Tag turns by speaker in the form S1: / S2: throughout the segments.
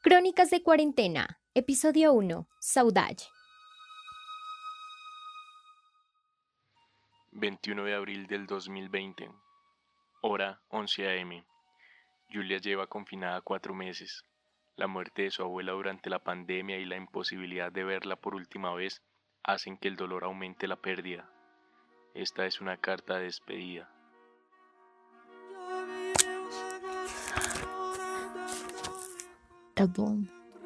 S1: Crónicas de Cuarentena, Episodio 1, Saudade.
S2: 21 de abril del 2020, hora 11 a.m. Julia lleva confinada 4 meses. La muerte de su abuela durante la pandemia y la imposibilidad de verla por última vez hacen que el dolor aumente la pérdida. Esta es una carta de despedida.
S3: Tá bom.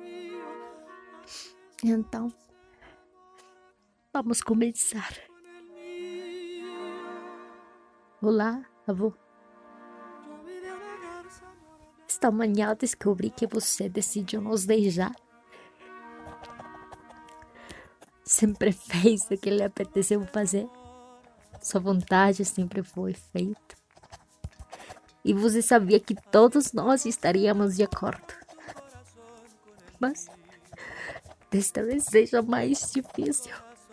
S3: Então, vamos começar. Olá, avô. Esta manhã eu descobri que você decidiu nos deixar. Sempre fez o que lhe apeteceu fazer. Sua vontade sempre foi feita. E você sabia que todos nós estaríamos de acordo. Mas desta vez seja mais difícil.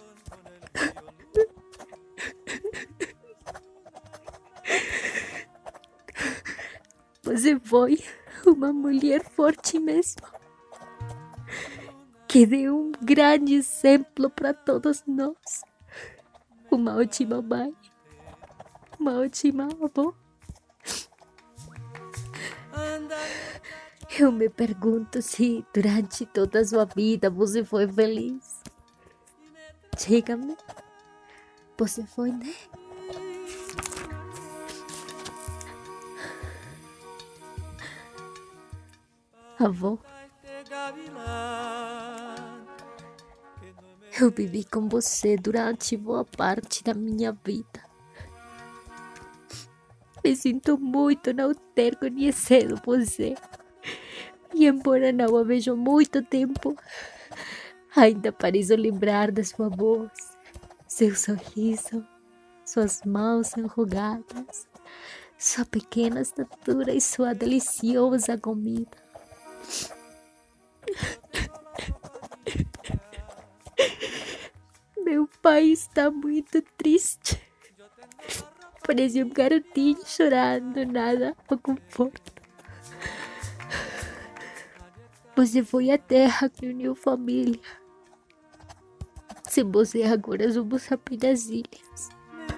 S3: Você foi uma mulher forte mesmo, que deu um grande exemplo para todos nós. Uma ótima mãe, uma ótima avó. Eu me pergunto se durante toda a sua vida você foi feliz. Diga-me, você foi, né? Avó, eu vivi com você durante boa parte da minha vida. Me sinto muito não ter conhecido você. E embora não a vejo há muito tempo, ainda pareço lembrar da sua voz, seu sorriso, suas mãos enrugadas, sua pequena estatura e sua deliciosa comida. Meu pai está muito triste. Parece um garotinho chorando, nada o conforta. Você foi a terra que uniu família. Sem você agora somos apenas ilhas.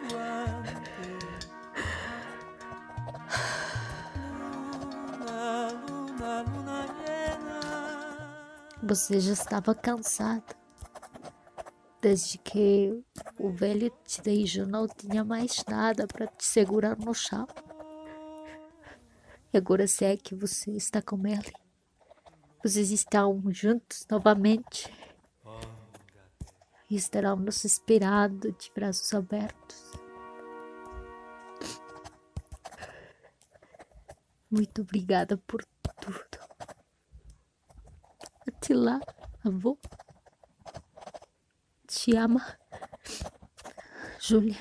S3: Você já estava cansado. Desde que o velho te deixou, não tinha mais nada para te segurar no chão. E agora sei que você está com ele. Vocês estão juntos novamente e estarão nos esperando de braços abertos. Muito obrigada por tudo. Até lá, avô. Te ama, Julia.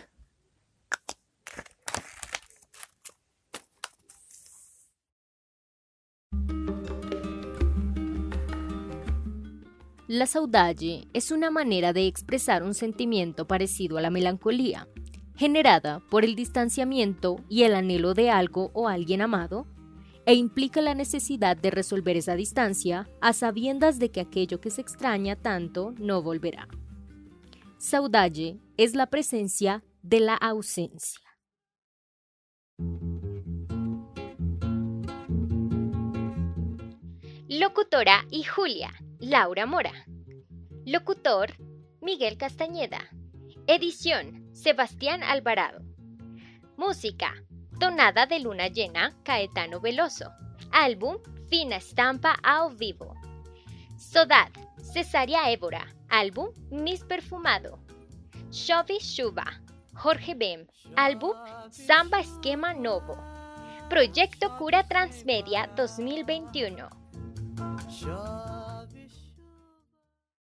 S1: La saudade es una manera de expresar un sentimiento parecido a la melancolía, generada por el distanciamiento y el anhelo de algo o alguien amado, e implica la necesidad de resolver esa distancia a sabiendas de que aquello que se extraña tanto no volverá. Saudade es la presencia de la ausencia. Locutora y Julia, Laura Mora. Locutor, Miguel Castañeda. Edición, Sebastián Alvarado. Música, Tonada de Luna Llena, Caetano Veloso. Álbum, Fina Estampa ao Vivo. Saudade, Cesária Évora. Álbum, Mis Perfumado. Chove Chuva, Jorge Bem. Álbum, Samba Esquema Novo. Proyecto Cura Transmedia 2021.